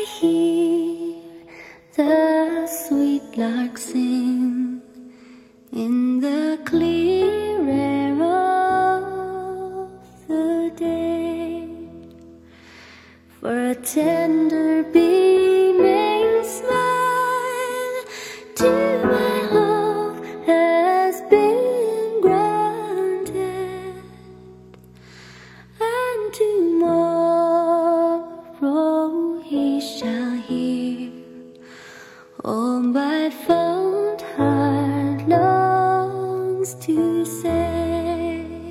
hear the sweet lark sing in the clear air of the day, for a tender beaming smile to my hope has been granted, and tomorrow he shall hear all my fond heart longs to say.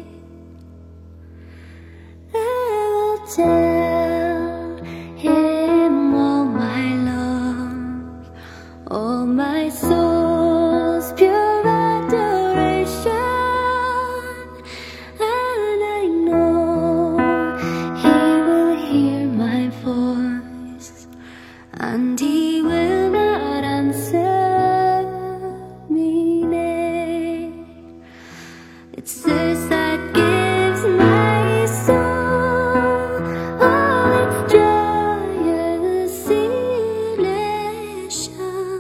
I will tell him all my love, all my soul's pure adoration, and I know he will hear my voice, and he will not answer me nay. It's this that gives my soul all its joyous elation,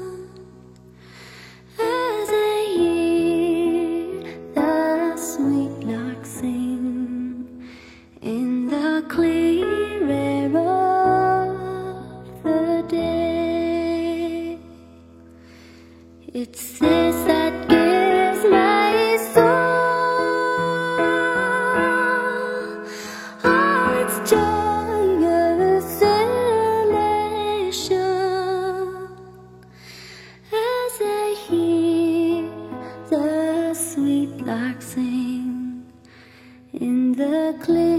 as I hear the sweet lark sing in the clear air of the day. It's this that gives my soul all its joyous elation, as I hear the sweet lark sing in the clear